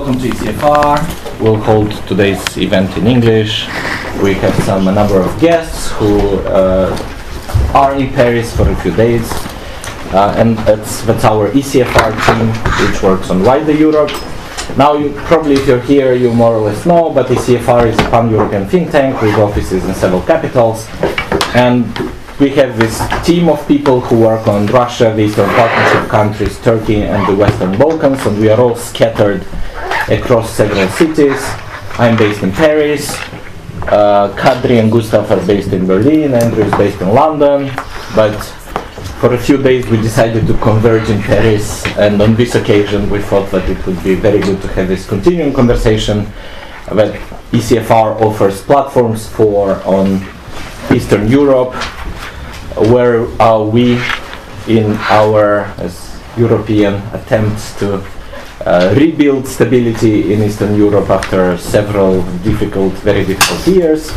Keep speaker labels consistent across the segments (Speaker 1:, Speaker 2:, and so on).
Speaker 1: welcome to ECFR. We'll hold today's event in English. We have a number of guests who are in Paris for a few days. And that's our ECFR team, which works on wider Europe. Now, probably if you're here, you more or less know, but ECFR is a pan-European think tank with offices in several capitals. And we have this team of people who work on Russia, the Eastern Partnership countries, Turkey, and the Western Balkans, and we are all scattered across several cities. I'm based in Paris. Kadri and Gustav are based in Berlin. Andrew is based in London. But for a few days we decided to converge in Paris, and on this occasion we thought that it would be very good to have this continuing conversation that ECFR offers platforms for on Eastern Europe, where we, in our as European attempts to rebuild stability in Eastern Europe after several very difficult years.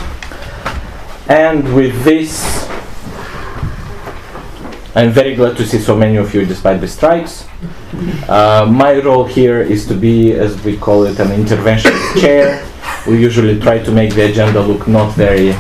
Speaker 1: And with this, I'm very glad to see so many of you despite the strikes. My role here is to be, as we call it, an intervention chair. We usually try to make the agenda look not very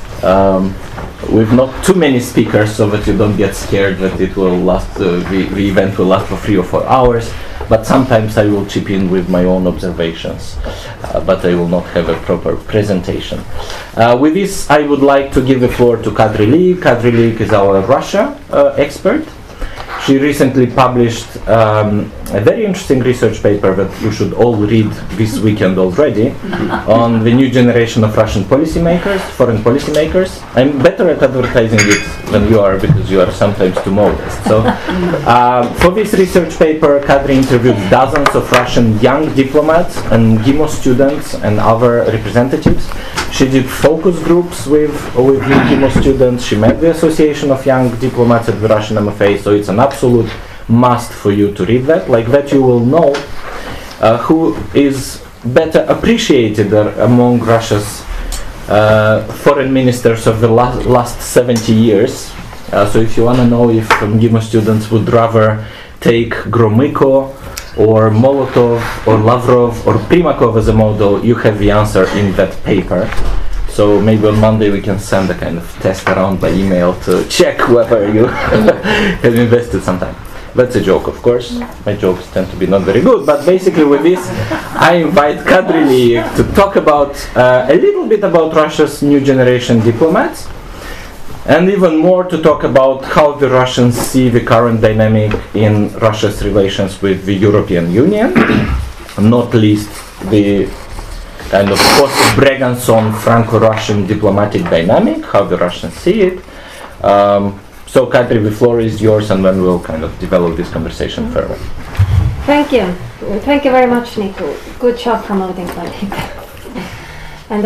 Speaker 1: with not too many speakers, so that you don't get scared that it will last. The event will last for 3 or 4 hours. But sometimes I will chip in with my own observations, but I will not have a proper presentation. With this, I would like to give the floor to Kadri Liik. Kadri Liik is our Russia expert. She recently published a very interesting research paper that you should all read this weekend already on the new generation of Russian policymakers, foreign policymakers. I'm better at advertising it than you are because you are sometimes too modest. So for this research paper, Kadri interviewed dozens of Russian young diplomats and GIMO students and other representatives. She did focus groups with new GIMO students. She met the Association of Young Diplomats at the Russian MFA, so it's an absolute must for you to read that. Like that you will know who is better appreciated among Russia's foreign ministers of the last 70 years. So if you want to know if GIMO students would rather take Gromyko or Molotov or Lavrov or Primakov as a model, you have the answer in that paper. So maybe on Monday we can send a kind of test around by email to check whether you have invested some time. That's a joke, of course. My jokes tend to be not very good, but basically with this I invite Kadri Liik to talk about a little bit about Russia's new generation diplomats, and even more to talk about how the Russians see the current dynamic in Russia's relations with the European Union, not least the kind of post-Breganson Franco-Russian diplomatic dynamic, how the Russians see it. So Kadri, the floor is yours, and then we'll kind of develop this conversation further.
Speaker 2: Thank you. Thank you very much, Nico. Good job promoting my paper. And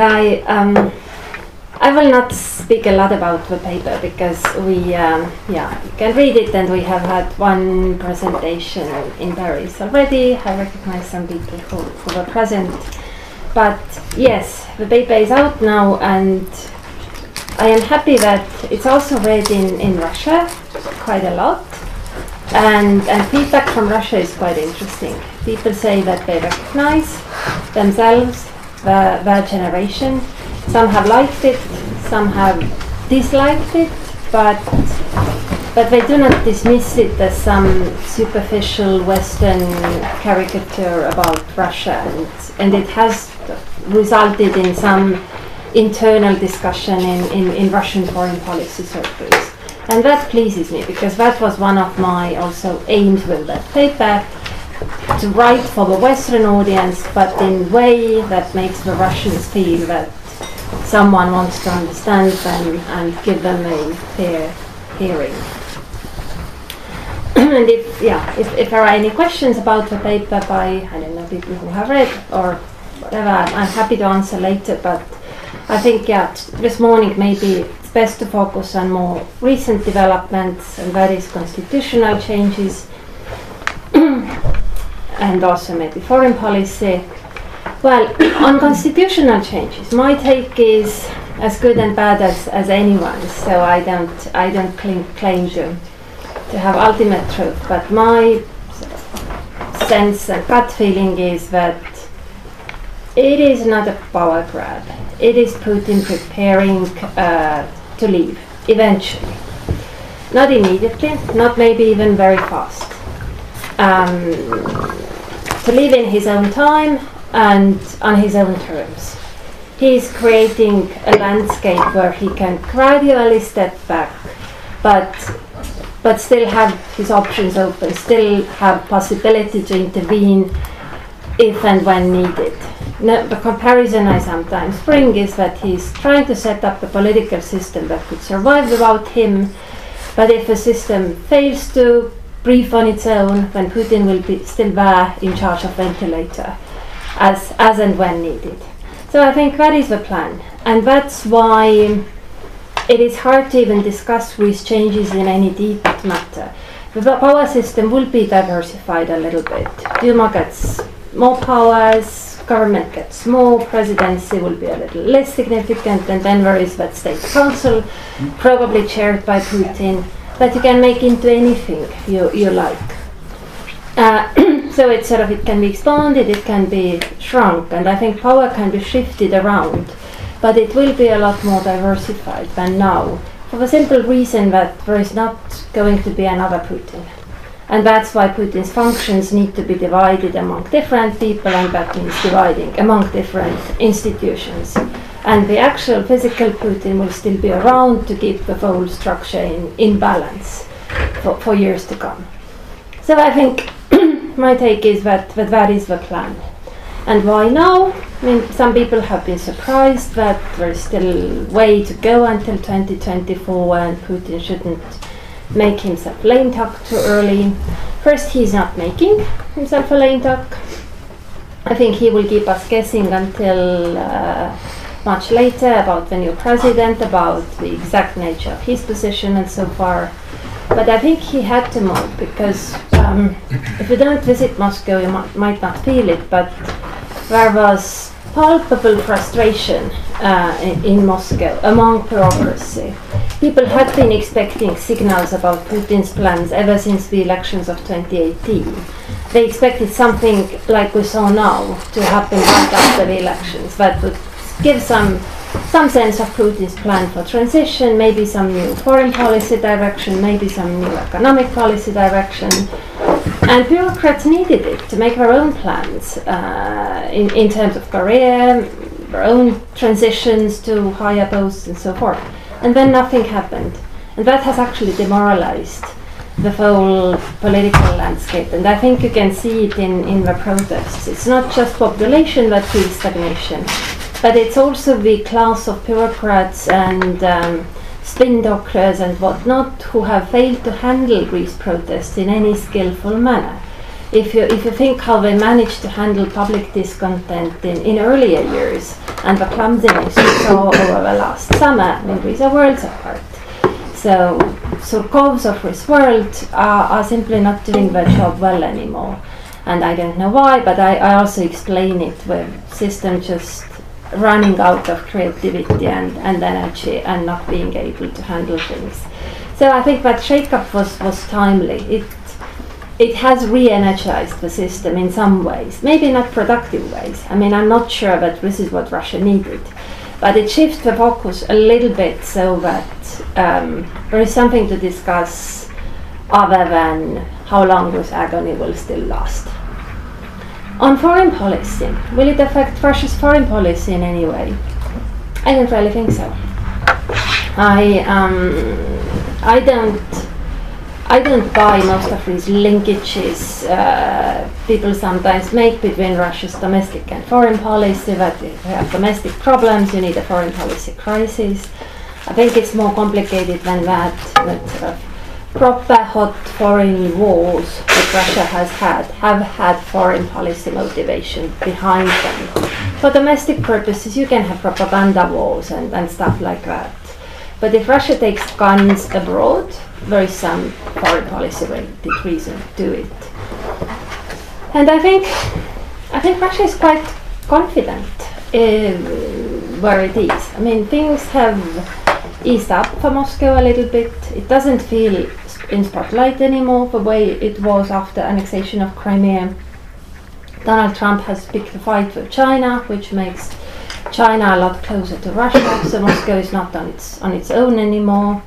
Speaker 2: I will not speak a lot about the paper because we, you can read it, and we have had one presentation in Paris already. I recognize some people who were present. But yes, the paper is out now, and I am happy that it's also read in Russia quite a lot. And feedback from Russia is quite interesting. People say that they recognize themselves, their generation. Some have liked it, some have disliked it, but they do not dismiss it as some superficial Western caricature about Russia, and it has resulted in some internal discussion in Russian foreign policy circles. And that pleases me, because that was one of my also aims with that paper, to write for the Western audience, but in a way that makes the Russians feel that someone wants to understand them and give them a fair hearing. And if there are any questions about the paper by, I don't know, people who have read or whatever, I'm happy to answer later. But I think, this morning maybe it's best to focus on more recent developments, and that is constitutional changes and also maybe foreign policy. Well, on constitutional changes, my take is as good and bad as anyone's, so I don't claim to have ultimate truth, but my sense and gut feeling is that it is not a power grab. It is Putin preparing to leave eventually. Not immediately, not maybe even very fast. To live in his own time and on his own terms. He is creating a landscape where he can gradually step back, but still have his options open, still have possibility to intervene if and when needed. No, the comparison I sometimes bring is that he's trying to set up a political system that could survive without him, but if the system fails to breathe on its own, then Putin will be still there in charge of ventilator, as and when needed. So I think that is the plan, and that's why it is hard to even discuss these changes in any detailed matter. The power system will be diversified a little bit. Duma gets more powers, government gets more, presidency will be a little less significant, and then there is that state council, probably chaired by Putin, that you can make into anything you like. So it's it can be expanded, it can be shrunk, and I think power can be shifted around, but it will be a lot more diversified than now, for the simple reason that there is not going to be another Putin. And that's why Putin's functions need to be divided among different people, and that means dividing among different institutions. And the actual physical Putin will still be around to keep the whole structure in balance for years to come. So I think my take is that is the plan. And why now? I mean, some people have been surprised that there is still way to go until 2024 and Putin shouldn't make himself lame duck too early. First, he's not making himself a lame duck. I think he will keep us guessing until much later about the new president, about the exact nature of his position and so far. But I think he had to move because if you don't visit Moscow, you might not feel it, but there was palpable frustration in Moscow among bureaucracy. People had been expecting signals about Putin's plans ever since the elections of 2018. They expected something like we saw now to happen right after the elections that would give some sense of Putin's plan for transition, maybe some new foreign policy direction, maybe some new economic policy direction. And bureaucrats needed it to make their own plans in terms of career, their own transitions to higher posts and so forth. And then nothing happened. And that has actually demoralized the whole political landscape. And I think you can see it in the protests. It's not just population that feels stagnation, but it's also the class of bureaucrats and spin doctors and whatnot who have failed to handle these protests in any skillful manner. If you think how they managed to handle public discontent in earlier years and the clumsiness we saw over the last summer, I mean, these are worlds apart. So Surkovs of this world are simply not doing their job well anymore. And I don't know why, but I also explain it with system just running out of creativity and energy and not being able to handle things. So I think that shake-up was timely. It has re-energized the system in some ways, maybe not productive ways. I mean, I'm not sure that this is what Russia needed, but it shifts the focus a little bit so that there is something to discuss other than how long this agony will still last. On foreign policy, will it affect Russia's foreign policy in any way? I don't really think so. I don't buy most of these linkages people sometimes make between Russia's domestic and foreign policy, that if you have domestic problems, you need a foreign policy crisis. I think it's more complicated than that. That proper hot foreign wars that Russia have had foreign policy motivation behind them. For domestic purposes, you can have propaganda wars and stuff like that. But if Russia takes guns abroad, there is some foreign policy related reason to do it. And I think Russia is quite confident where it is. I mean, things have eased up for Moscow a little bit. It doesn't feel in spotlight anymore the way it was after annexation of Crimea. Donald Trump has picked a fight with China, which makes China a lot closer to Russia. So Moscow is not on its own anymore.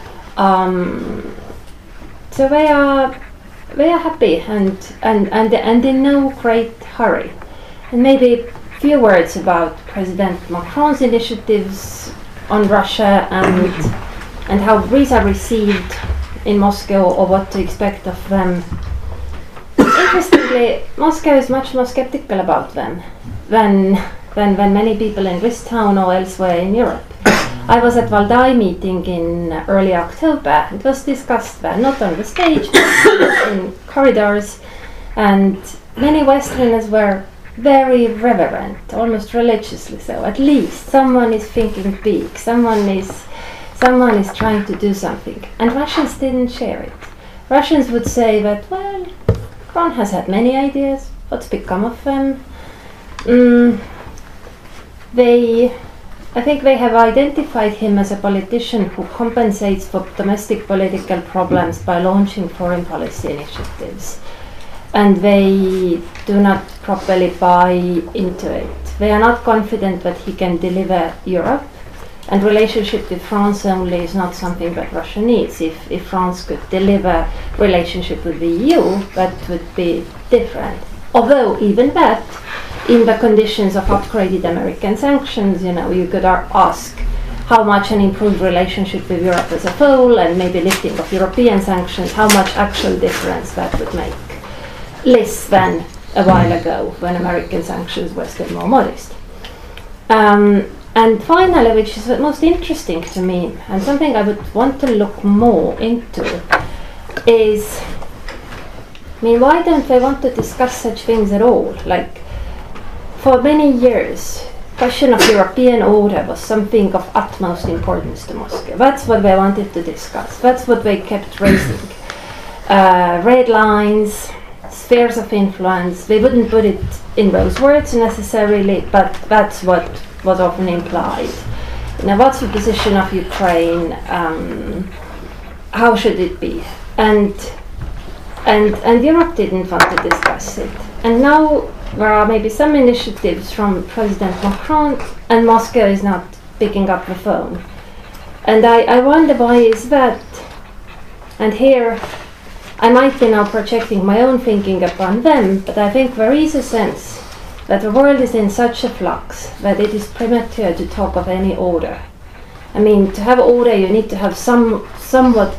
Speaker 2: So they are happy and in no great hurry. And maybe a few words about President Macron's initiatives on Russia and how these are received in Moscow, or what to expect of them. Interestingly, Moscow is much more skeptical about them than many people in this town or elsewhere in Europe. I was at Valdai meeting in early October. It was discussed there, not on the stage, but in corridors, and many Westerners were very reverent, almost religiously so. At least someone is thinking big, someone is trying to do something. And Russians didn't share it. Russians would say that, well, Macron has had many ideas, what's become of them? I think they have identified him as a politician who compensates for domestic political problems by launching foreign policy initiatives. And they do not properly buy into it. They are not confident that he can deliver Europe, and relationship with France only is not something that Russia needs. If France could deliver relationship with the EU, that would be different. Although even that, in the conditions of upgraded American sanctions, you could ask how much an improved relationship with Europe as a whole, and maybe lifting of European sanctions, how much actual difference that would make. Less than a while ago, when American sanctions were still more modest. And finally, which is the most interesting to me, and something I would want to look more into, is, why don't they want to discuss such things at all? Like, for many years, question of European order was something of utmost importance to Moscow. That's what they wanted to discuss. That's what they kept raising. Red lines, spheres of influence. They wouldn't put it in those words necessarily, but that's what was often implied. What's the position of Ukraine? How should it be? And Europe didn't want to discuss it. And now there are maybe some initiatives from President Macron, and Moscow is not picking up the phone. And I wonder why is that? And here I might be now projecting my own thinking upon them, but I think there is a sense that the world is in such a flux that it is premature to talk of any order. To have order, you need to have somewhat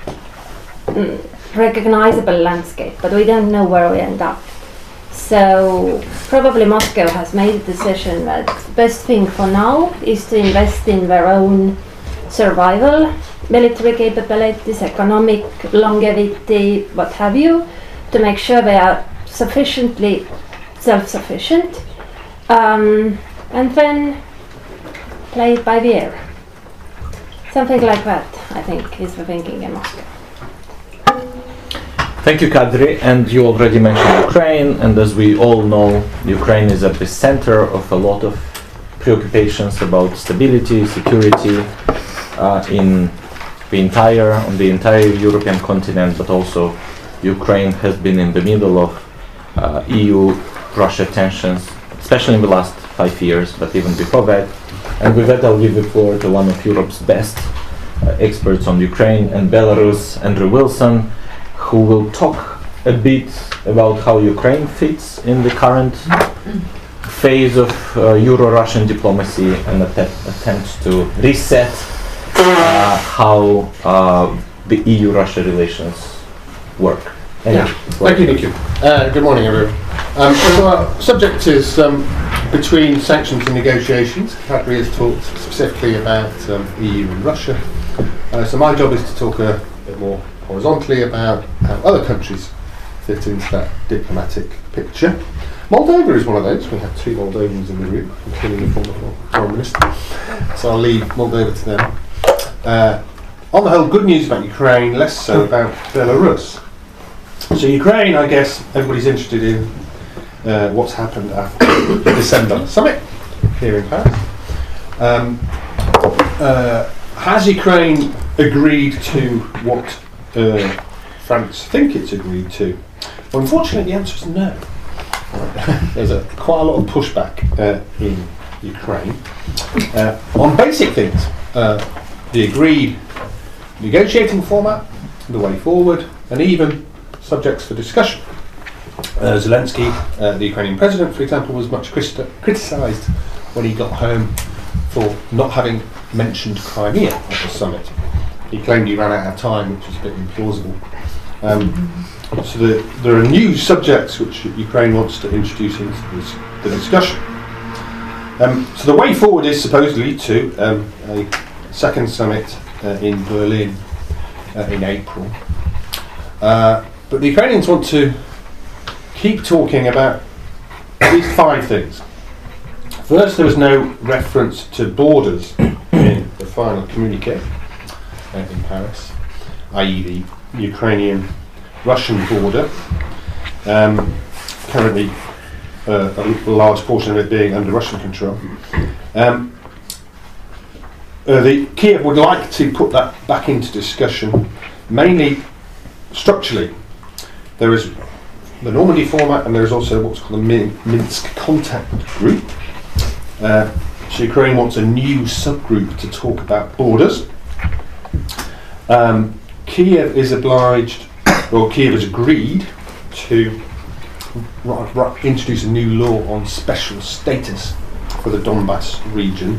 Speaker 2: recognizable landscape, but we don't know where we end up. So probably Moscow has made a decision that the best thing for now is to invest in their own survival, military capabilities, economic longevity, what have you, to make sure they are sufficiently self-sufficient, and then play it by the ear. Something like that, I think, is the thinking in Moscow.
Speaker 1: Thank you, Kadri. And you already mentioned Ukraine, and as we all know, Ukraine is at the center of a lot of preoccupations about stability, security on the entire European continent, but also Ukraine has been in the middle of EU-Russia tensions, especially in the last 5 years, but even before that. And with that, I'll give the floor to one of Europe's best experts on Ukraine and Belarus, Andrew Wilson, who will talk a bit about how Ukraine fits in the current phase of Euro-Russian diplomacy and attempts to reset how the EU-Russia relations work.
Speaker 3: Thank you, Niku. Good morning, everyone. So our subject is between sanctions and negotiations. Kadri has talked specifically about EU and Russia. So my job is to talk a bit more horizontally about how other countries fit into that diplomatic picture. Moldova is one of those. We have 2 Moldovans in the room, including the former Foreign Minister. So I'll leave Moldova to them. On the whole, good news about Ukraine, less so about Belarus. So Ukraine, I guess, everybody's interested in what's happened after the December summit here in Paris. Has Ukraine agreed to what France think it's agreed to? Well, unfortunately, the answer is no. there's quite a lot of pushback in Ukraine on basic things. The agreed negotiating format, the way forward, and even subjects for discussion. Zelensky, the Ukrainian president, for example, was much criticised when he got home for not having mentioned Crimea at the summit. He claimed he ran out of time, which is a bit implausible. So there are new subjects which Ukraine wants to introduce into the discussion. So the way forward is supposedly to a second summit in Berlin in April. But the Ukrainians want to keep talking about at least 5 things. First, there was no reference to borders in the final communique in Paris, i.e. the Ukrainian-Russian border, currently a large portion of it being under Russian control. Kiev would like to put that back into discussion, mainly structurally. There is the Normandy format, and there is also what's called the Minsk Contact Group. So Ukraine wants a new subgroup to talk about borders. Kiev is obliged, or Kiev has agreed to introduce a new law on special status for the Donbass region.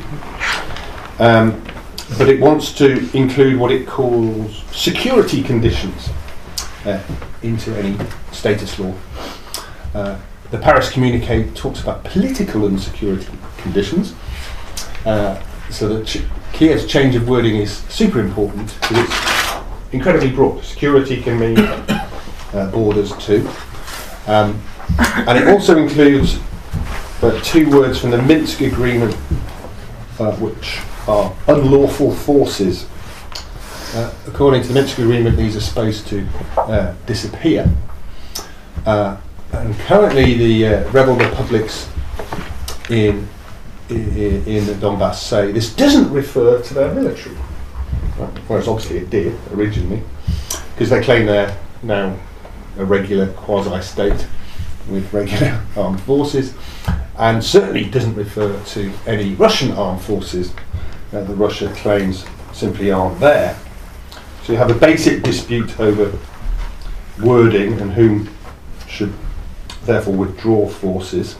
Speaker 3: But it wants to include what it calls security conditions into any status law. The Paris communique talks about political and security conditions. So that Kiev's change of wording is super important because it's incredibly broad. Security can mean borders too. And it also includes 2 words from the Minsk agreement, which are unlawful forces. According to the Minsk agreement, these are supposed to disappear. And currently the rebel republics in the Donbass say this doesn't refer to their military, right? Whereas obviously it did originally, because they claim they're now a regular quasi-state with regular armed forces, and certainly doesn't refer to any Russian armed forces that Russia claims simply aren't there. So you have a basic dispute over wording and whom should therefore withdraw forces.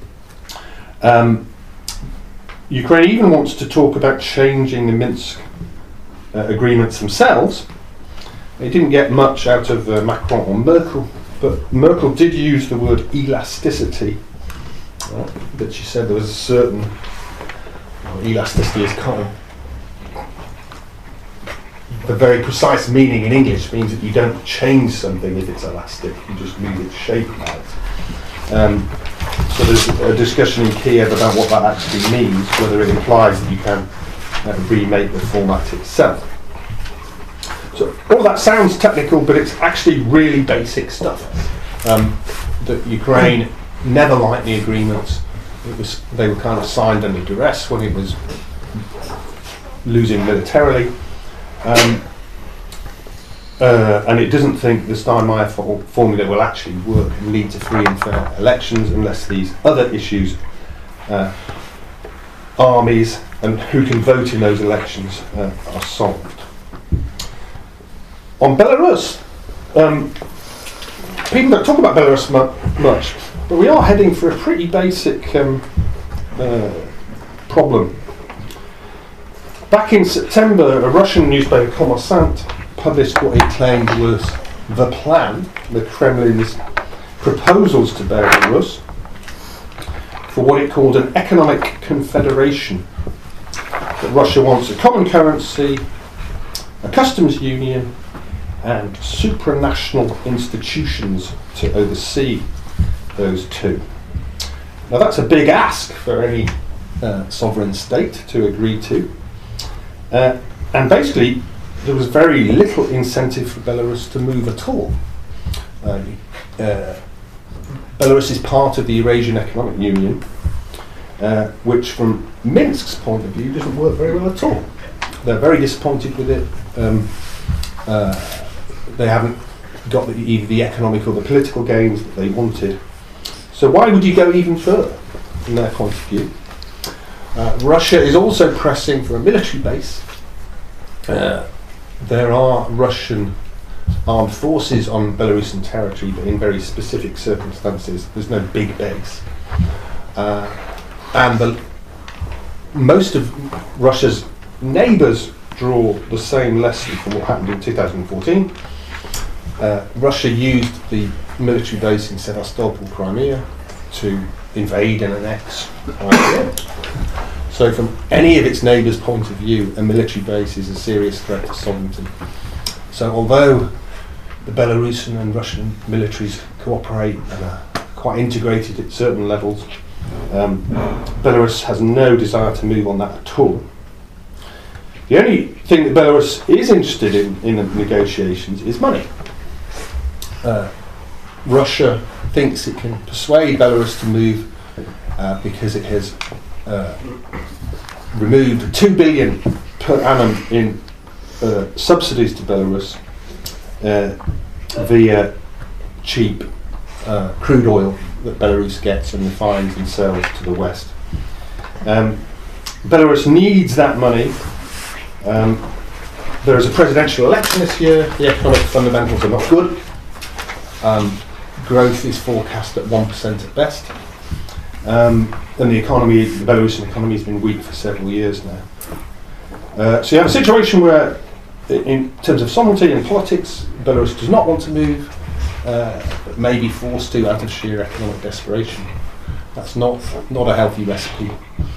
Speaker 3: Ukraine even wants to talk about changing the Minsk agreements themselves. They didn't get much out of Macron or Merkel, but Merkel did use the word elasticity. But she said there was a certain elasticity is kind of the very precise meaning in English means that you don't change something if it's elastic, you just move its shape about. So there's a discussion in Kiev about what that actually means, whether it implies that you can remake the format itself. So all that sounds technical, but it's actually really basic stuff. That Ukraine never liked the agreements. They were kind of signed under duress when it was losing militarily. And it doesn't think the Steinmeier formula will actually work and lead to free and fair elections unless these other issues, armies and who can vote in those elections, are solved. On Belarus, people don't talk about Belarus much, but we are heading for a pretty basic problem. Back in September, a Russian newspaper, Kommersant, published what it claimed was the plan, the Kremlin's proposals to Belarus, for what it called an economic confederation. That Russia wants a common currency, a customs union, and supranational institutions to oversee those 2. Now that's a big ask for any sovereign state to agree to. And basically, there was very little incentive for Belarus to move at all. Belarus is part of the Eurasian Economic Union, which from Minsk's point of view doesn't work very well at all. They're very disappointed with it. They haven't got either the economic or the political gains that they wanted. So why would you go even further from their point of view? Russia is also pressing for a military base. There are Russian armed forces on Belarusian territory, but in very specific circumstances. There's no big base. And most of Russia's neighbours draw the same lesson from what happened in 2014. Russia used the military base in Sevastopol, Crimea, to invade and annex Crimea. So from any of its neighbours' point of view, a military base is a serious threat to sovereignty. So although the Belarusian and Russian militaries cooperate and are quite integrated at certain levels, Belarus has no desire to move on that at all. The only thing that Belarus is interested in the negotiations is money. Russia thinks it can persuade Belarus to move because it has removed 2 billion per annum in subsidies to Belarus via cheap crude oil that Belarus gets and refines and sells to the West. Belarus needs that money. There is a presidential election this year. The economic fundamentals are not good. Growth is forecast at 1% at best. And the Belarusian economy has been weak for several years now. So you have a situation where, in terms of sovereignty and politics, Belarus does not want to move, but may be forced to out of sheer economic desperation. That's not a healthy recipe.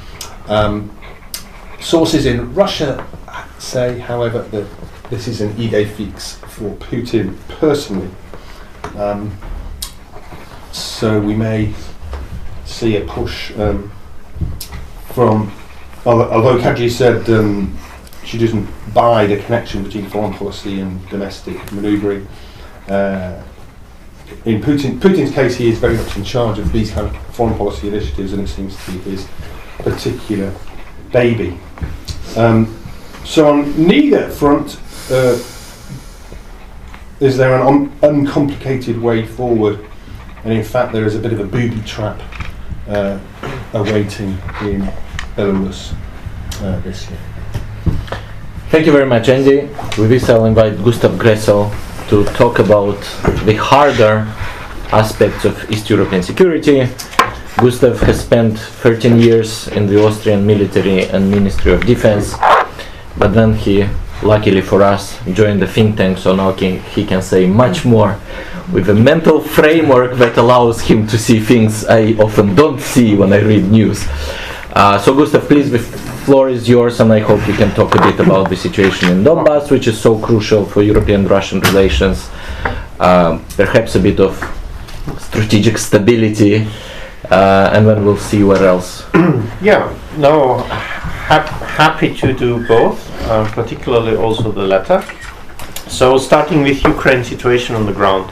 Speaker 3: Sources in Russia say, however, that this is an idée fixe for Putin personally. So we may see a push from, although Kadri said she doesn't buy the connection between foreign policy and domestic manoeuvring. In Putin's case, he is very much in charge of these kind of foreign policy initiatives, and it seems to be his particular baby. So on neither front is there an uncomplicated way forward, and in fact there is a bit of a booby trap awaiting in Belarus this year.
Speaker 1: Thank you very much, Andy. With this, I'll invite Gustav Gressel to talk about the harder aspects of East European security. Gustav has spent 13 years in the Austrian military and Ministry of Defense, but then he, luckily for us, joined the think tank, so now he can say much more with a mental framework that allows him to see things I often don't see when I read news. So Gustav, please, the floor is yours, and I hope you can talk a bit about the situation in Donbass, which is so crucial for European-Russian relations, perhaps a bit of strategic stability, and then we'll see where else.
Speaker 4: Happy to do both, particularly also the latter. So starting with Ukraine situation on the ground.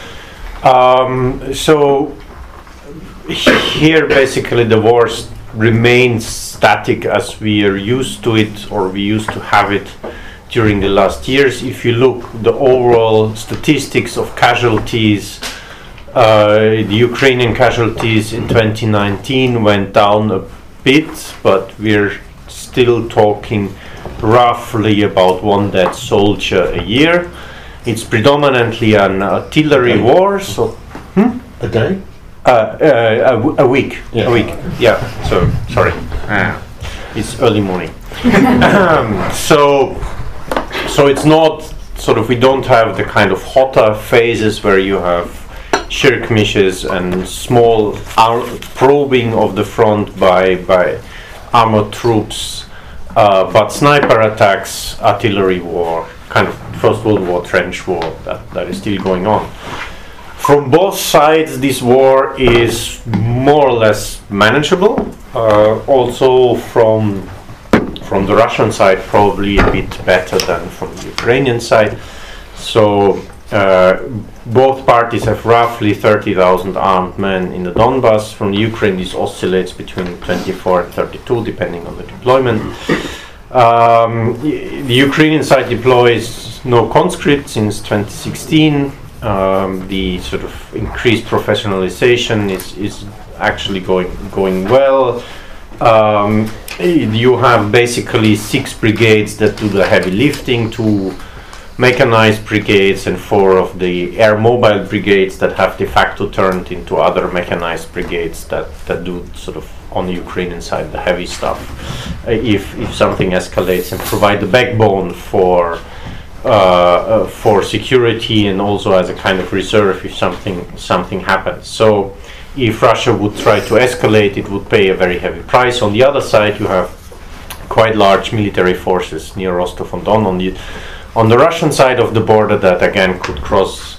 Speaker 4: So here basically the war remains static as we are used to it, or we used to have it during the last years. If you look the overall statistics of casualties, the Ukrainian casualties in 2019 went down a bit, but we're still talking roughly about 1 dead soldier a year. It's predominantly an artillery war, so
Speaker 3: A day?
Speaker 4: a week.
Speaker 3: Yeah.
Speaker 4: A week. Yeah. So sorry, it's early morning. So it's not sort of, we don't have the kind of hotter phases where you have skirmishes and small probing of the front by armored troops, but sniper attacks, artillery war, kind of First World War trench war that is still going on. From both sides, this war is more or less manageable. Also from the Russian side, probably a bit better than from the Ukrainian side. So both parties have roughly 30,000 armed men in the Donbass. From the Ukraine, this oscillates between 24 and 32, depending on the deployment. The Ukrainian side deploys no conscript since 2016. The sort of increased professionalization is actually going well. You have basically 6 brigades that do the heavy lifting, 2 mechanized brigades, and 4 of the air mobile brigades that have de facto turned into other mechanized brigades that do sort of on the Ukrainian side the heavy stuff if something escalates, and provide the backbone for security and also as a kind of reserve if something happens. So if Russia would try to escalate, it would pay a very heavy price. On the other side, you have quite large military forces near Rostov-on-Don on the Russian side of the border that again could cross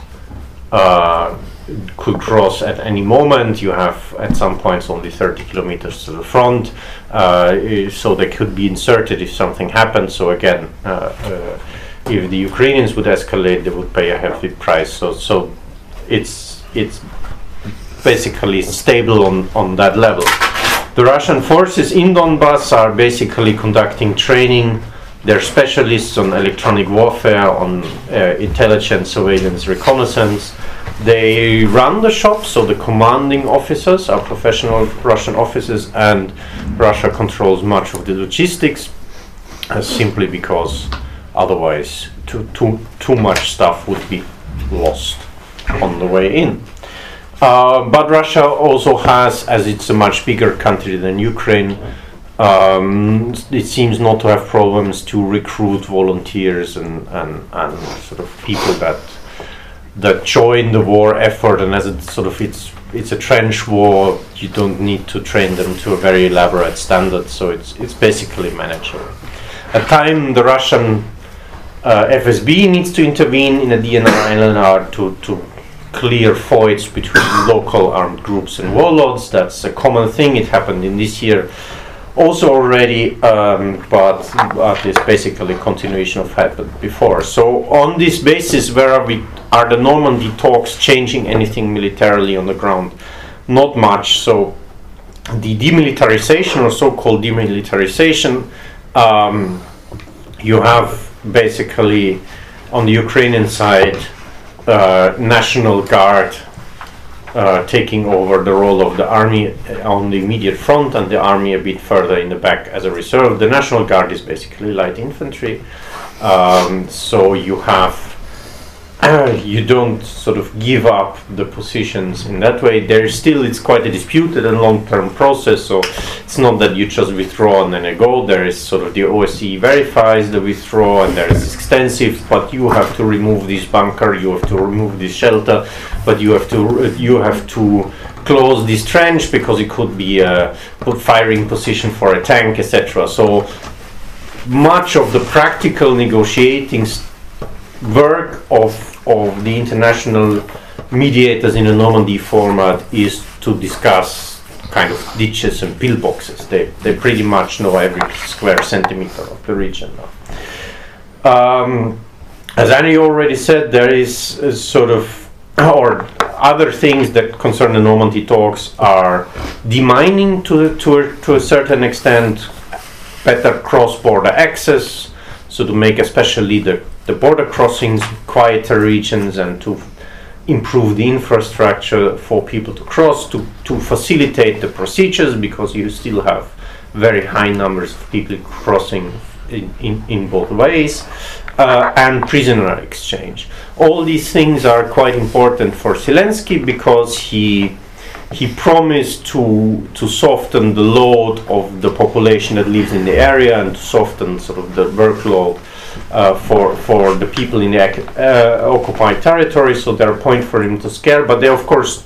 Speaker 4: at any moment. You have at some points only 30 kilometers to the front, so they could be inserted if something happened. So again, if the Ukrainians would escalate, they would pay a heavy price. So it's basically stable on that level. The Russian forces in Donbass are basically conducting training. They're specialists on electronic warfare, on intelligence, surveillance, reconnaissance. They run the shop, so the commanding officers are professional Russian officers, and Russia controls much of the logistics, simply because otherwise too much stuff would be lost on the way in. But Russia also has, as it's a much bigger country than Ukraine, it seems not to have problems to recruit volunteers and sort of people that join the war effort. And as it's a trench war, you don't need to train them to a very elaborate standard, so it's basically manageable. At time the Russian FSB needs to intervene in a DNR LNR to clear voids between local armed groups and warlords. That's a common thing. It happened in this year also already, but it's basically continuation of happened before. So on this basis, where are the Normandy talks changing anything militarily on the ground? Not much. So the demilitarization, or so-called demilitarization, you have basically on the Ukrainian side National Guard taking over the role of the army on the immediate front, and the army a bit further in the back as a reserve. The National Guard is basically light infantry, so you have you don't sort of give up the positions in that way. It's quite a disputed and long-term process, so it's not that you just withdraw and then you go. There is sort of the OSCE verifies the withdrawal, and there is extensive, but you have to remove this bunker, you have to remove this shelter, but you have to close this trench because it could be a firing position for a tank, etc. So much of the practical negotiating work of the international mediators in a Normandy format is to discuss kind of ditches and pillboxes. They pretty much know every square centimeter of the region now. As Annie already said, there is a sort of, or other things that concern the Normandy talks are demining to a certain extent, better cross-border access, so to make especially the border crossings quieter regions, and to improve the infrastructure for people to cross, to facilitate the procedures, because you still have very high numbers of people crossing in both ways, and prisoner exchange. All these things are quite important for Zelensky, because he promised to soften the load of the population that lives in the area, and to soften sort of the workload for the people in the occupied territory. So they're a point for him to scare, but they of course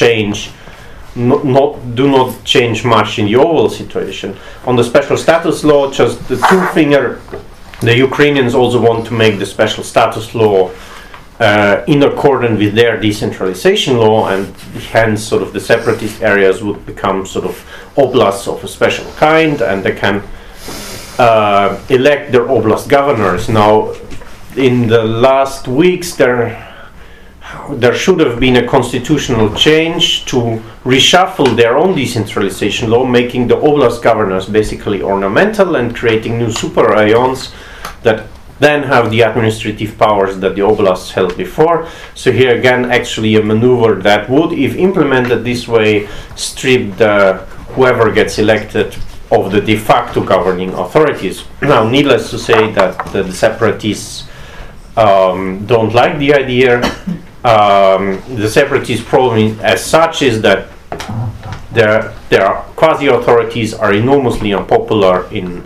Speaker 4: do not change much in the overall situation. On the special status law, just the two-finger, the Ukrainians also want to make the special status law in accordance with their decentralization law, and hence sort of the separatist areas would become sort of oblasts of a special kind, and they can elect their oblast governors. Now, in the last weeks, there should have been a constitutional change to reshuffle their own decentralization law, making the oblast governors basically ornamental and creating new super rayons that then have the administrative powers that the oblasts held before. So here again, actually a maneuver that would, if implemented this way, strip whoever gets elected of the de facto governing authorities. Now, needless to say that the separatists don't like the idea. The separatist problem as such is that their quasi-authorities are enormously unpopular in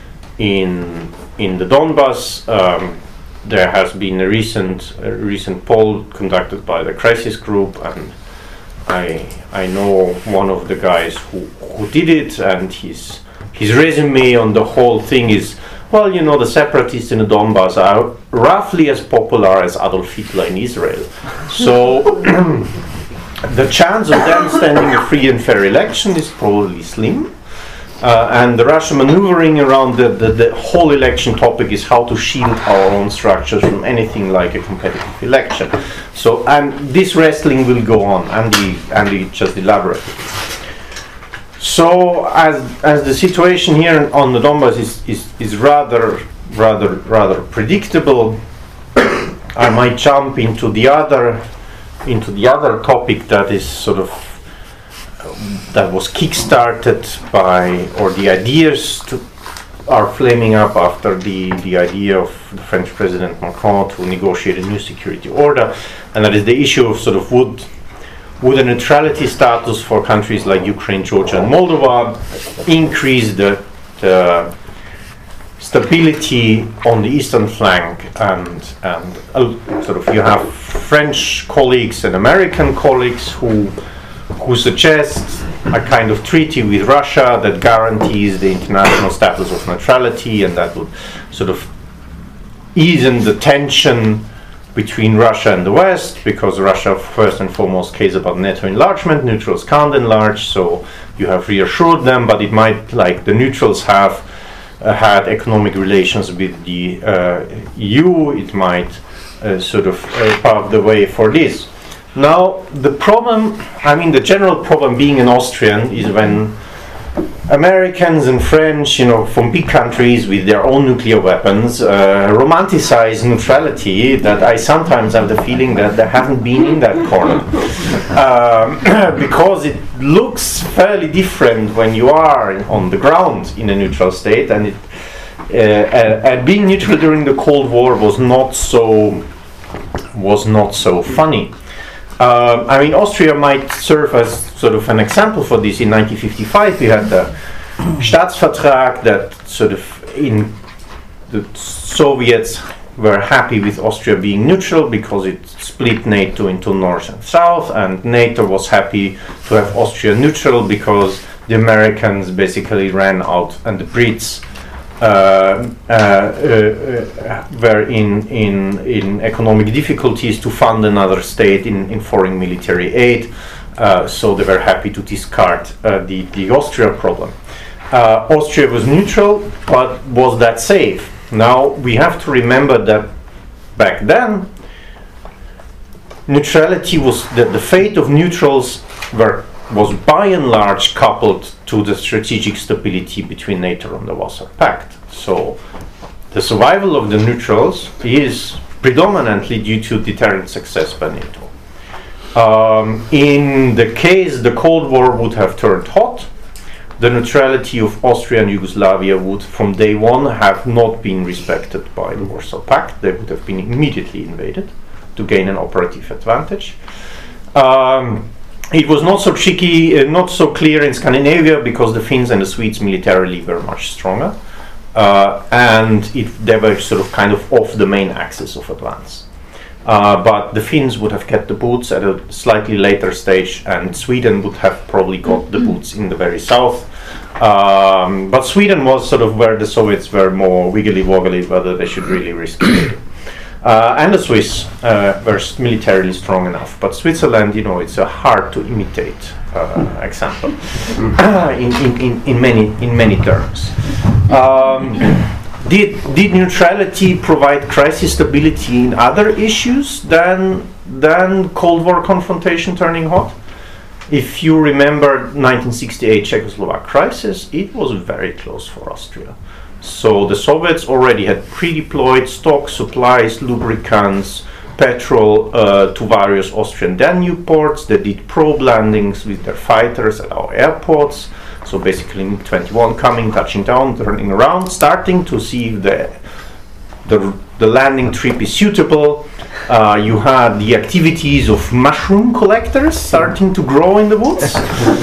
Speaker 4: the Donbass. There has been a recent poll conducted by the Crisis Group, and I know one of the guys who did it, and his resume on the whole thing is, well, you know, the separatists in the Donbass are roughly as popular as Adolf Hitler in Israel. So the chance of them standing a free and fair election is probably slim. And the Russian maneuvering around the whole election topic is how to shield our own structures from anything like a competitive election. So, and this wrestling will go on. Andy just elaborated. So, as the situation here on the Donbass is rather predictable, I might jump into the other topic that is sort of that was kick-started by, or the ideas are flaming up after the idea of the French President Macron to negotiate a new security order, and that is the issue of sort of would a neutrality status for countries like Ukraine, Georgia, and Moldova increase the stability on the eastern flank, and sort of you have French colleagues and American colleagues who suggest a kind of treaty with Russia that guarantees the international status of neutrality, and that would sort of ease the tension between Russia and the West, because Russia first and foremost cares about NATO enlargement. Neutrals can't enlarge, so you have reassured them, but it might, like the neutrals have had economic relations with the EU, it might sort of pave the way for this. Now, the problem, I mean, the general problem being an Austrian is when Americans and French, you know, from big countries with their own nuclear weapons, romanticize neutrality, that I sometimes have the feeling that they haven't been in that corner. Because it looks fairly different when you are on the ground in a neutral state, and being neutral during the Cold War was not so funny. I mean, Austria might serve as sort of an example for this. In 1955, we had the Staatsvertrag that sort of the Soviets were happy with Austria being neutral because it split NATO into North and South, and NATO was happy to have Austria neutral because the Americans basically ran out and the Brits were in economic difficulties to fund another state in foreign military aid, so they were happy to discard the Austria problem. Austria was neutral, but was that safe? Now we have to remember that back then neutrality was the fate of neutrals was by and large coupled to the strategic stability between NATO and the Warsaw Pact. So the survival of the neutrals is predominantly due to deterrent success by NATO. In the case the Cold War would have turned hot, the neutrality of Austria and Yugoslavia would from day one have not been respected by the Warsaw Pact. They would have been immediately invaded to gain an operative advantage. It was not so tricky, not so clear in Scandinavia because the Finns and the Swedes militarily were much stronger, and they were sort of kind of off the main axis of advance. But the Finns would have kept the boots at a slightly later stage, and Sweden would have probably got the boots in the very south. But Sweden was sort of where the Soviets were more wiggly-woggly whether they should really risk it. And the Swiss were militarily strong enough, but Switzerland, you know, it's a hard to imitate example in many terms. Did neutrality provide crisis stability in other issues than Cold War confrontation turning hot? If you remember 1968 Czechoslovak crisis, it was very close for Austria. So the Soviets already had pre-deployed stock, supplies, lubricants, petrol to various Austrian Danube ports. They did probe landings with their fighters at our airports. So basically MiG-21 coming, touching down, turning around, starting to see if the landing trip is suitable. You had the activities of mushroom collectors starting to grow in the woods.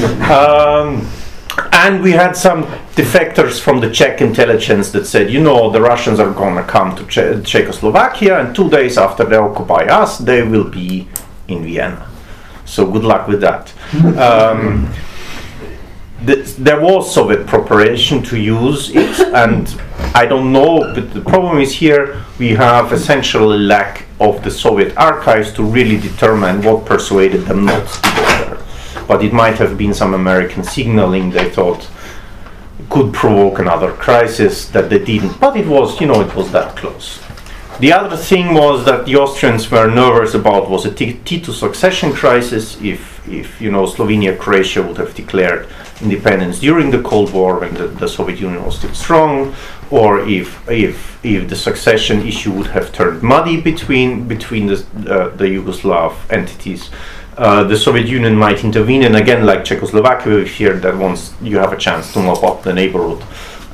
Speaker 4: And we had some defectors from the Czech intelligence that said, you know, the Russians are going to come to Czechoslovakia, and 2 days after they occupy us, they will be in Vienna. So good luck with that. There was Soviet preparation to use it, and I don't know, but the problem is here we have essentially lack of the Soviet archives to really determine what persuaded them not to go there. But it might have been some American signaling they thought could provoke another crisis that they didn't. But it was, you know, it was that close. The other thing was that the Austrians were nervous about was a Tito succession crisis if you know, Slovenia, Croatia would have declared independence during the Cold War when the Soviet Union was still strong, or if the succession issue would have turned muddy between the Yugoslav entities. The Soviet Union might intervene, and again, like Czechoslovakia, we fear that once you have a chance to mop up the neighborhood,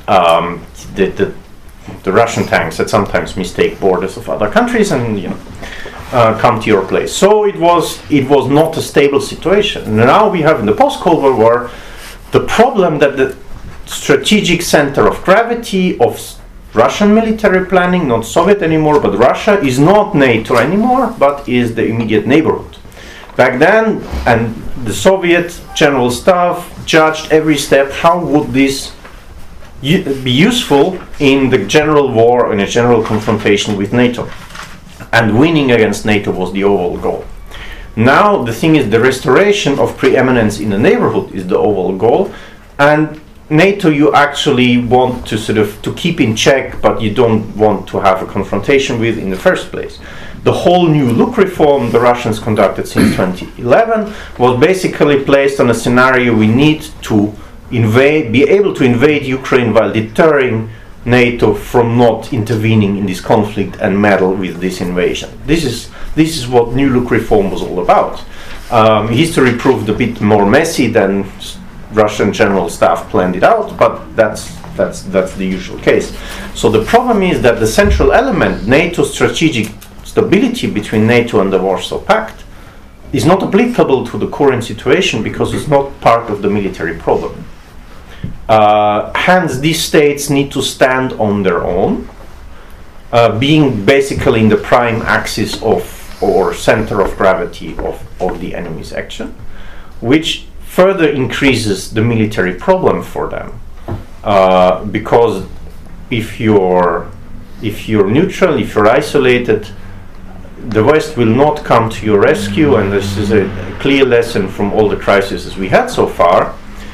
Speaker 4: the Russian tanks that sometimes mistake borders of other countries and, you know, come to your place. So it was not a stable situation. And now we have in the post-Cold War war the problem that the strategic center of gravity of Russian military planning, not Soviet anymore, but Russia, is not NATO anymore, but is the immediate neighborhood. Back then, and the Soviet General Staff judged every step, how would this be useful in the general war, in a general confrontation with NATO. And winning against NATO was the overall goal. Now the thing is, the restoration of preeminence in the neighborhood is the overall goal, and NATO you actually want to sort of to keep in check, but you don't want to have a confrontation with in the first place. The whole new look reform the Russians conducted since 2011 was basically placed on a scenario we need to be able to invade Ukraine while deterring NATO from not intervening in this conflict and meddle with this invasion. This is what New Look reform was all about. History proved a bit more messy than Russian General Staff planned it out, but that's the usual case. So the problem is that the central element, NATO's strategic stability between NATO and the Warsaw Pact, is not applicable to the current situation because it's not part of the military problem. Hence, these states need to stand on their own, being basically in the prime axis of or center of gravity of the enemy's action, which further increases the military problem for them. Because if you're neutral, if you're isolated, the West will not come to your rescue, and this is a clear lesson from all the crises we had so far.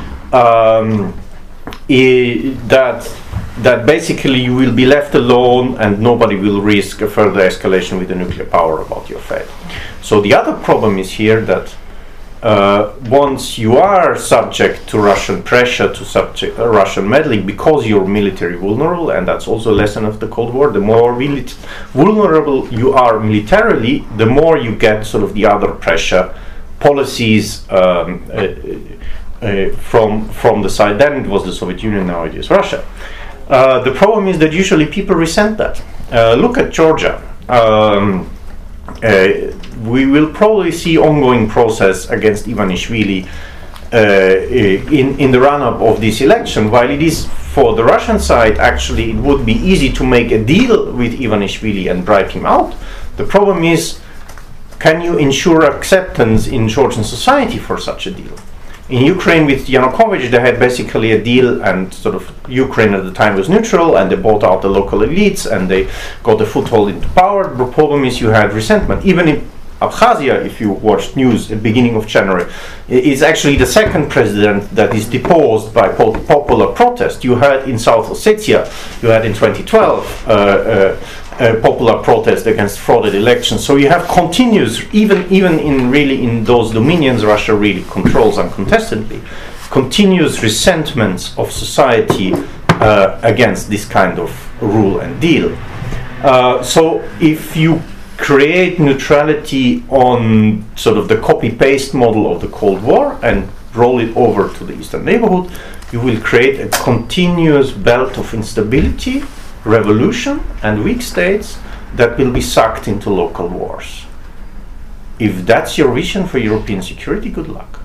Speaker 4: That basically you will be left alone and nobody will risk a further escalation with the nuclear power about your fate. So the other problem is here that once you are subject to Russian pressure, to Russian meddling, because you're military vulnerable, and that's also a lesson of the Cold War, the more vulnerable you are militarily, the more you get sort of the other pressure policies from the side. Then it was the Soviet Union, now it is Russia. The problem is that usually people resent that. Look at Georgia. We will probably see ongoing process against Ivanishvili in the run-up of this election. While it is for the Russian side, actually it would be easy to make a deal with Ivanishvili and bribe him out. The problem is, can you ensure acceptance in Georgian society for such a deal? In Ukraine with Yanukovych, they had basically a deal, and sort of Ukraine at the time was neutral, and they bought out the local elites, and they got a foothold into power. The problem is you had resentment. Even in Abkhazia, if you watched news at the beginning of January, it's actually the second president that is deposed by popular protest. You had in South Ossetia, you had in 2012 popular protest against frauded elections. So you have continuous, even in those dominions Russia really controls uncontestedly, continuous resentments of society against this kind of rule and deal. So if you create neutrality on sort of the copy-paste model of the Cold War and roll it over to the Eastern neighborhood, you will create a continuous belt of instability, revolution, and weak states that will be sucked into local wars. If that's your vision for European security, good luck.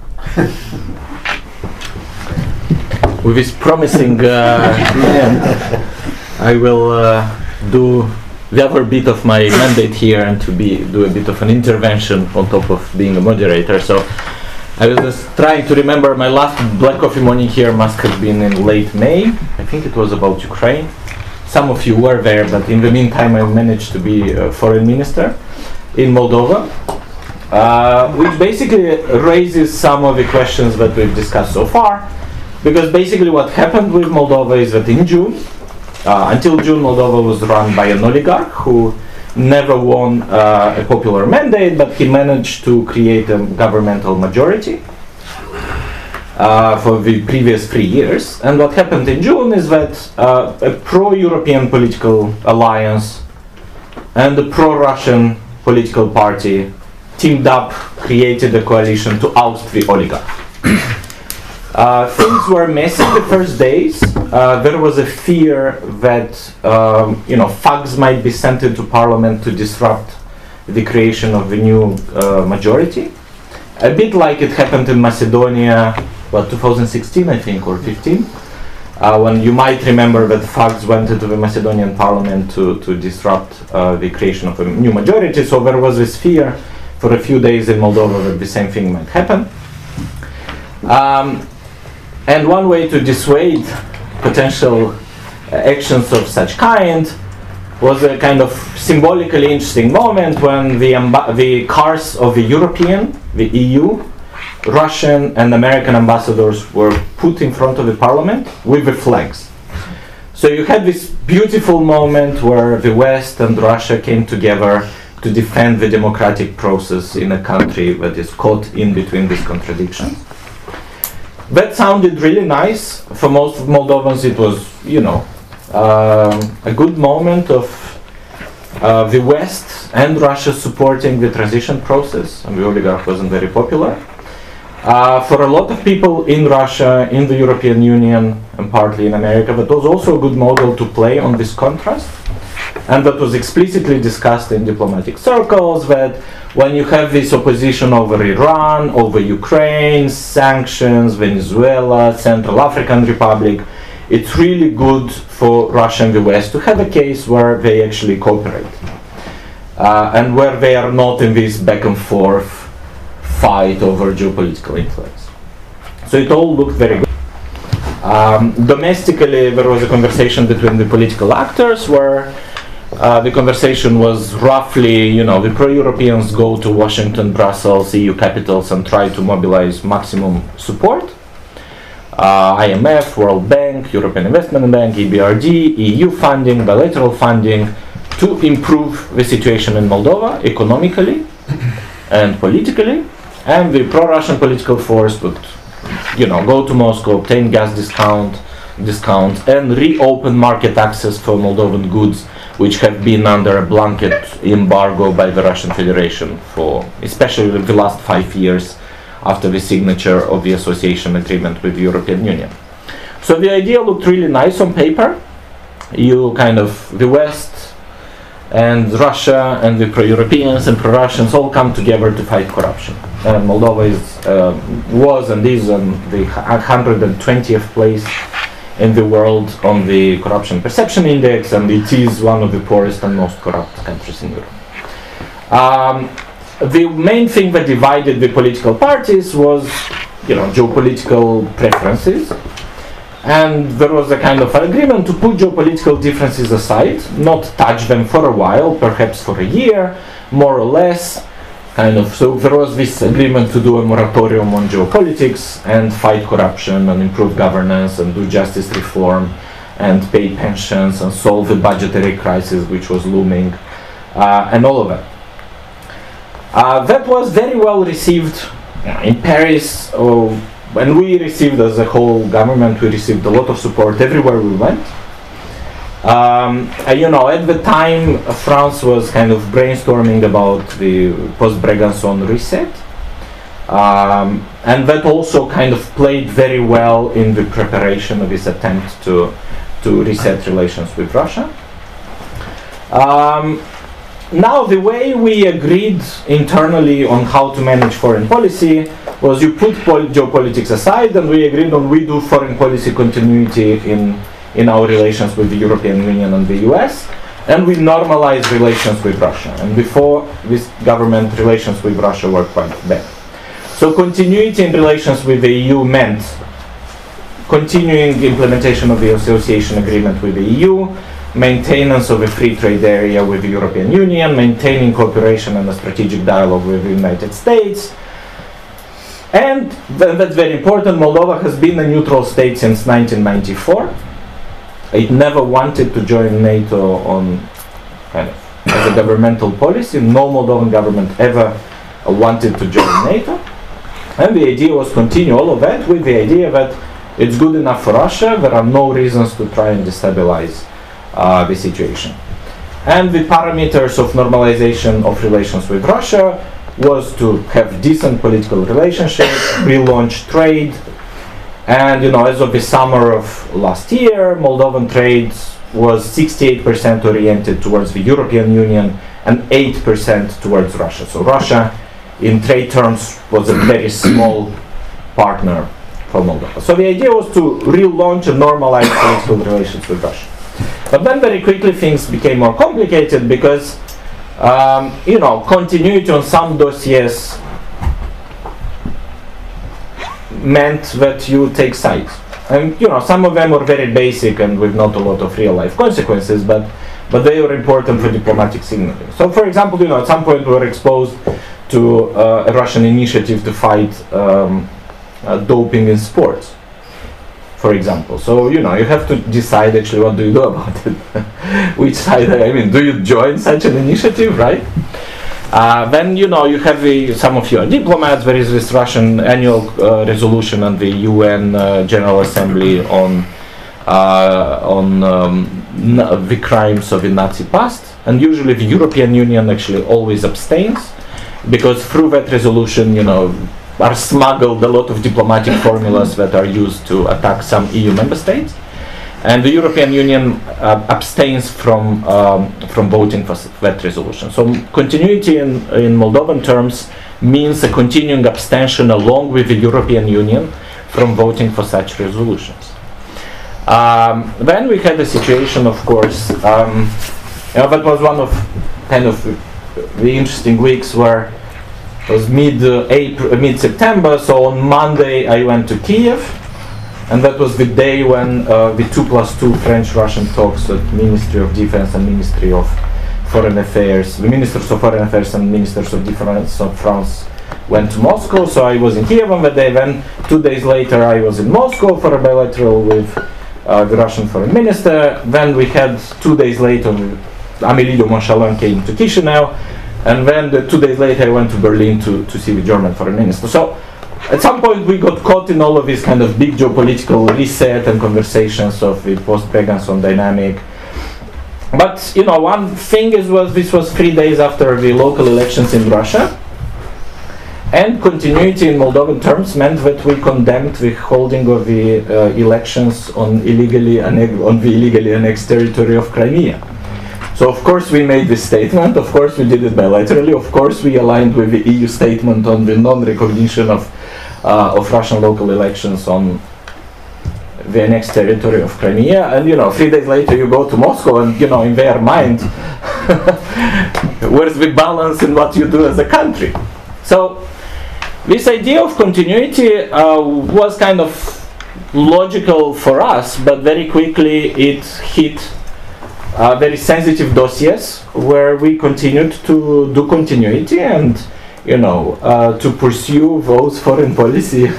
Speaker 1: With this promising end, I will do the other bit of my mandate here and to do a bit of an intervention on top of being a moderator. So I was just trying to remember my last Black Coffee morning here must have been in late May. I think it was about Ukraine. Some of you were there, but in the meantime I managed to be a foreign minister in Moldova, which basically raises some of the questions that we've discussed so far. Because basically what happened with Moldova is that in June, until June, Moldova was run by an oligarch who never won a popular mandate, but he managed to create a governmental majority for the previous 3 years. And what happened in June is that a pro-European political alliance and a pro-Russian political party teamed up, created a coalition to oust the oligarch. Things were messy the first days. There was a fear that thugs might be sent into parliament to disrupt the creation of the new majority. A bit like it happened in Macedonia, 2016 I think, or 15, when you might remember that thugs went into the Macedonian parliament to disrupt the creation of a new majority. So there was this fear for a few days in Moldova that the same thing might happen. And one way to dissuade potential actions of such kind was a kind of symbolically interesting moment when the cars of the EU, Russian and American ambassadors were put in front of the parliament with the flags. So you had this beautiful moment where the West and Russia came together to defend the democratic process in a country that is caught in between these contradictions. That sounded really nice. For most of Moldovans it was, a good moment of the West and Russia supporting the transition process, and the oligarch wasn't very popular. For a lot of people in Russia, in the European Union, and partly in America, that was also a good model to play on this contrast. And that was explicitly discussed in diplomatic circles, that when you have this opposition over Iran, over Ukraine, sanctions, Venezuela, Central African Republic, it's really good for Russia and the West to have a case where they actually cooperate. And where they are not in this back and forth fight over geopolitical influence. So it all looked very good. Domestically, there was a conversation between the political actors where the conversation was roughly, the pro-Europeans go to Washington, Brussels, EU capitals and try to mobilize maximum support. IMF, World Bank, European Investment Bank, EBRD, EU funding, bilateral funding to improve the situation in Moldova economically and politically. And the pro-Russian political force would, go to Moscow, obtain gas discounts, and reopen market access for Moldovan goods, which have been under a blanket embargo by the Russian Federation for especially the last 5 years after the signature of the association agreement with the European Union. So the idea looked really nice on paper. The West and Russia and the pro-Europeans and pro-Russians all come together to fight corruption. And Moldova was and is on the 120th place in the world on the Corruption Perception Index, and it is one of the poorest and most corrupt countries in Europe. The main thing that divided the political parties was, geopolitical preferences. And there was a kind of agreement to put geopolitical differences aside, not touch them for a while, perhaps for a year, more or less. So there was this agreement to do a moratorium on geopolitics and fight corruption and improve governance and do justice reform and pay pensions and solve the budgetary crisis which was looming and all of that. That was very well received in Paris. when we received, as a whole government, we received a lot of support everywhere we went. At the time, France was kind of brainstorming about the post-Brégançon reset. And that also kind of played very well in the preparation of this attempt to reset relations with Russia. Now, the way we agreed internally on how to manage foreign policy was you put geopolitics aside, and we agreed on we do foreign policy continuity in our relations with the European Union and the US, and we normalize relations with Russia. And before this government, relations with Russia were quite bad. So continuity in relations with the EU meant continuing implementation of the association agreement with the EU, maintenance of a free trade area with the European Union, maintaining cooperation and a strategic dialogue with the United States. And that's very important, Moldova has been a neutral state since 1994. It never wanted to join NATO on kind of as a governmental policy. No Moldovan government ever wanted to join NATO. And the idea was continue all of that with the idea that it's good enough for Russia, there are no reasons to try and destabilize the situation. And the parameters of normalization of relations with Russia was to have decent political relationships, relaunch trade, and as of the summer of last year, Moldovan trade was 68% oriented towards the European Union and 8% towards Russia. So Russia, in trade terms, was a very small partner for Moldova. So the idea was to relaunch and normalize political relations with Russia. But then very quickly things became more complicated because, continuity on some dossiers meant that you take sides. And, some of them were very basic and with not a lot of real life consequences, but they were important for diplomatic signaling. So, for example, at some point we were exposed to a Russian initiative to fight doping in sports, for example. So, you have to decide actually what do you do about it. Which side, do you join such an initiative, right? Then, you have some of your diplomats. There is this Russian annual resolution on the UN General Assembly on the crimes of the Nazi past. And usually the European Union actually always abstains, because through that resolution, are smuggled a lot of diplomatic formulas that are used to attack some EU member states, and the European Union abstains from voting for that resolution. So continuity in Moldovan terms means a continuing abstention along with the European Union from voting for such resolutions. Then we had a situation, of course, that was one of kind of the interesting weeks where it was mid-September, so on Monday I went to Kiev, and that was the day when the 2+2 French-Russian talks at Ministry of Defense and Ministry of Foreign Affairs, the Ministers of Foreign Affairs and Ministers of Defense of France went to Moscow. So I was in Kiev on that day. Then 2 days later I was in Moscow for a bilateral with the Russian Foreign Minister. Then we had 2 days later Amélie de Montchalin came to Chisinau. And then 2 days later I went to Berlin to see the German Foreign Minister. So at some point we got caught in all of this kind of big geopolitical reset and conversations of the post-Brégançon dynamic. But one thing was this was 3 days after the local elections in Russia, and continuity in Moldovan terms meant that we condemned the holding of the elections on the illegally annexed territory of Crimea. So of course we made this statement, of course we did it bilaterally, of course we aligned with the EU statement on the non-recognition of Russian local elections on the annexed territory of Crimea, and 3 days later you go to Moscow and in their mind where's the balance in what you do as a country? So this idea of continuity was kind of logical for us, but very quickly it hit very sensitive dossiers where we continued to do continuity and to pursue those foreign policy.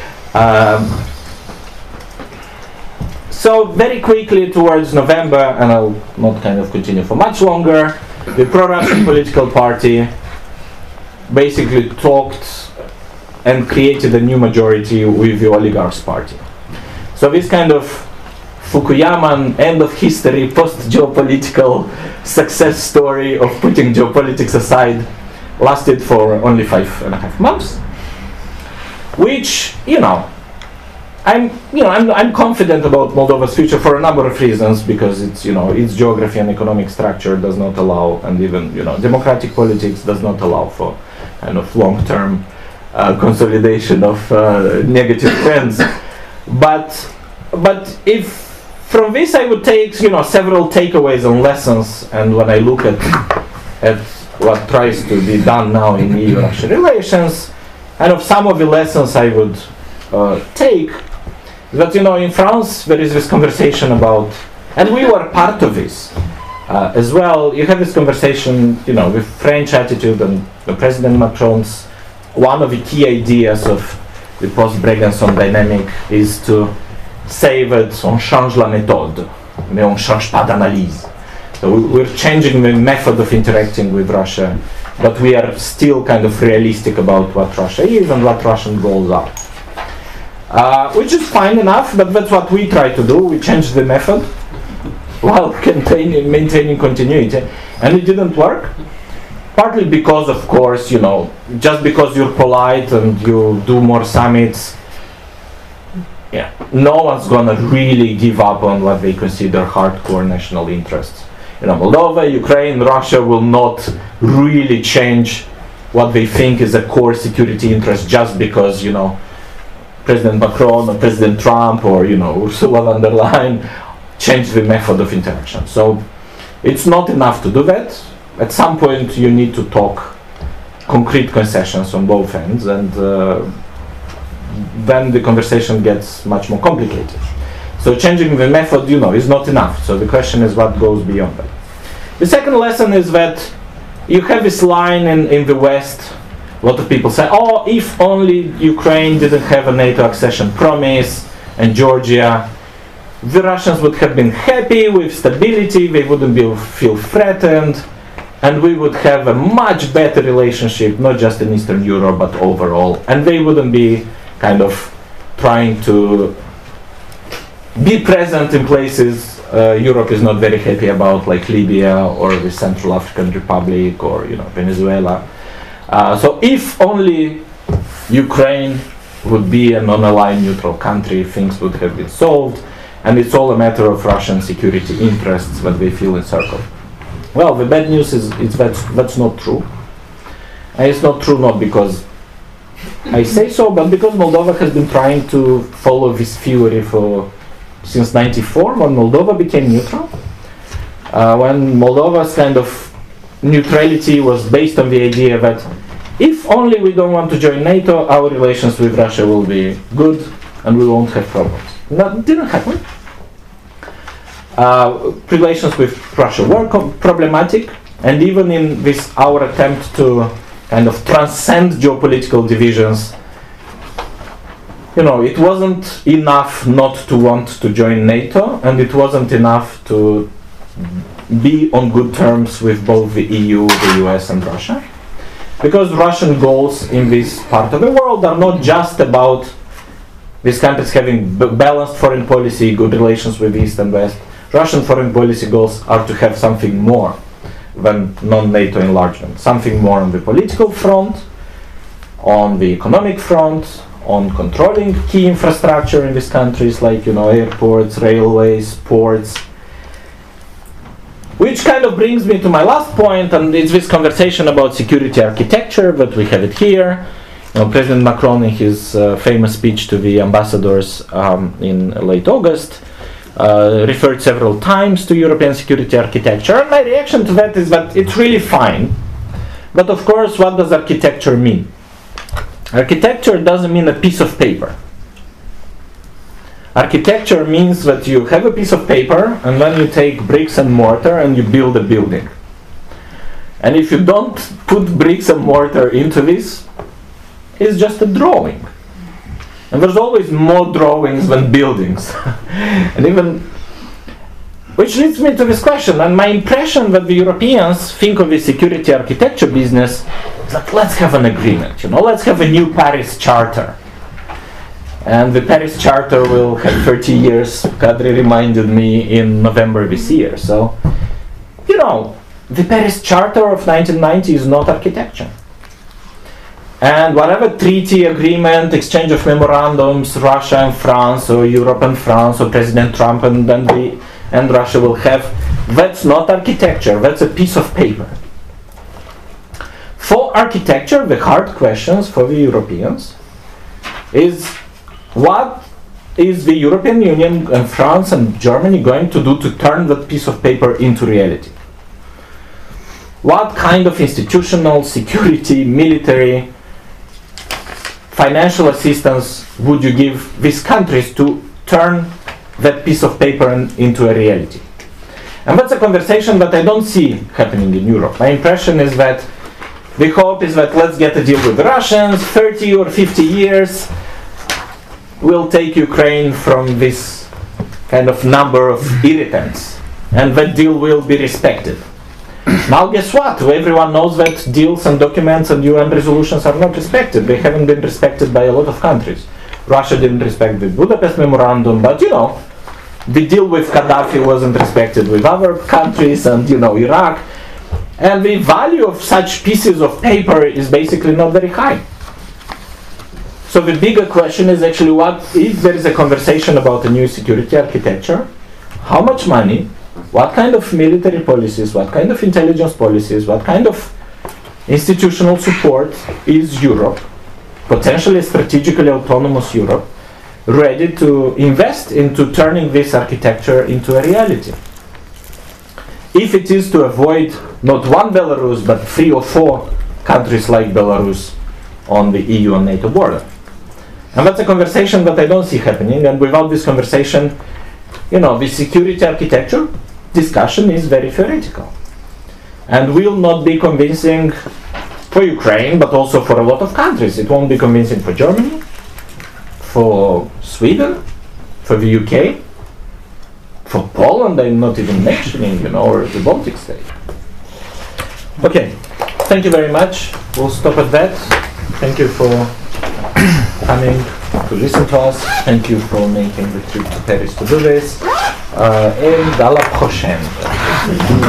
Speaker 1: So very quickly towards November, and I'll not kind of continue for much longer, the pro-Russian political party basically talked and created a new majority with the oligarchs party. So this kind of Fukuyaman end of history, post-geopolitical success story of putting geopolitics aside lasted for only 5.5 months, which, I'm confident about Moldova's future for a number of reasons, because its geography and economic structure does not allow, and even democratic politics does not allow for kind of long-term consolidation of negative trends. But if from this I would take several takeaways and lessons, and when I look at what tries to be done now in EU-Russia relations, and of some of the lessons I would take, that in France there is this conversation about, and we were part of this as well. You have this conversation, with French attitude, and President Macron's one of the key ideas of the post-Brégançon dynamic is to say that on change la méthode, mais on change pas d'analyse. So we're changing the method of interacting with Russia, but we are still kind of realistic about what Russia is and what Russian goals are. Which is fine enough, but that's what we try to do. We change the method while maintaining continuity, and it didn't work. Partly because, of course, just because you're polite and you do more summits, no one's gonna really give up on what they consider hardcore national interests. Moldova, Ukraine, Russia will not really change what they think is a core security interest just because, President Macron or President Trump or, Ursula von der Leyen change the method of interaction. So it's not enough to do that. At some point you need to talk concrete concessions on both ends, and then the conversation gets much more complicated. So changing the method, is not enough. So the question is what goes beyond that. The second lesson is that you have this line in the West. A lot of people say, oh, if only Ukraine didn't have a NATO accession promise and Georgia, the Russians would have been happy with stability, they wouldn't feel threatened, and we would have a much better relationship, not just in Eastern Europe, but overall. And they wouldn't be kind of trying to be present in places Europe is not very happy about, like Libya or the Central African Republic or Venezuela. So if only Ukraine would be a non-aligned neutral country, things would have been solved, and it's all a matter of Russian security interests that they feel encircled. Well, the bad news is that's not true. And it's not true not because I say so, but because Moldova has been trying to follow this theory since '94, when Moldova became neutral. When Moldova's kind of neutrality was based on the idea that if only we don't want to join NATO, our relations with Russia will be good and we won't have problems. That didn't happen. Relations with Russia were problematic, and even in this our attempt to kind of transcend geopolitical divisions, it wasn't enough not to want to join NATO, and it wasn't enough to be on good terms with both the EU, the US, and Russia. Because Russian goals in this part of the world are not just about these countries having balanced foreign policy, good relations with East and West. Russian foreign policy goals are to have something more than non-NATO enlargement. Something more on the political front, on the economic front, on controlling key infrastructure in these countries like airports, railways, ports. Which kind of brings me to my last point, and it's this conversation about security architecture, but we have it here. President Macron, in his famous speech to the ambassadors in late August, referred several times to European security architecture. And my reaction to that is that it's really fine. But of course, what does architecture mean? Architecture doesn't mean a piece of paper. Architecture means that you have a piece of paper and then you take bricks and mortar and you build a building. And if you don't put bricks and mortar into this, it's just a drawing. And there's always more drawings than buildings. And even, which leads me to this question, and my impression that the Europeans think of the security architecture business like, let's have an agreement, let's have a new Paris Charter. And the Paris Charter will have 30 years, Kadri reminded me, in November this year. So, the Paris Charter of 1990 is not architecture. And whatever treaty, agreement, exchange of memorandums Russia and France, or Europe and France, or President Trump and Russia will have, that's not architecture, that's a piece of paper. For architecture, the hard questions for the Europeans is, what is the European Union and France and Germany going to do to turn that piece of paper into reality? What kind of institutional, security, military, financial assistance would you give these countries to turn that piece of paper into a reality? And that's a conversation that I don't see happening in Europe. My impression is that the hope is that let's get a deal with the Russians, 30 or 50 years, we'll take Ukraine from this kind of number of irritants, and that deal will be respected. Now guess what? Everyone knows that deals and documents and UN resolutions are not respected. They haven't been respected by a lot of countries. Russia didn't respect the Budapest Memorandum, but the deal with Gaddafi wasn't respected with other countries, and Iraq. And the value of such pieces of paper is basically not very high. So the bigger question is actually, what if there is a conversation about a new security architecture? How much money? What kind of military policies, what kind of intelligence policies, what kind of institutional support is Europe, potentially strategically autonomous Europe, ready to invest into turning this architecture into a reality? If it is to avoid not one Belarus, but 3 or 4 countries like Belarus on the EU and NATO border. And that's a conversation that I don't see happening, and without this conversation, the security architecture discussion is very theoretical and will not be convincing for Ukraine, but also for a lot of countries. It won't be convincing for Germany, for Sweden, for the UK, for Poland, I'm not even mentioning, or the Baltic state. Okay, thank you very much. We'll stop at that. Thank you for coming to listen to us. Thank you for making the trip to Paris to do this. Et à la prochaine.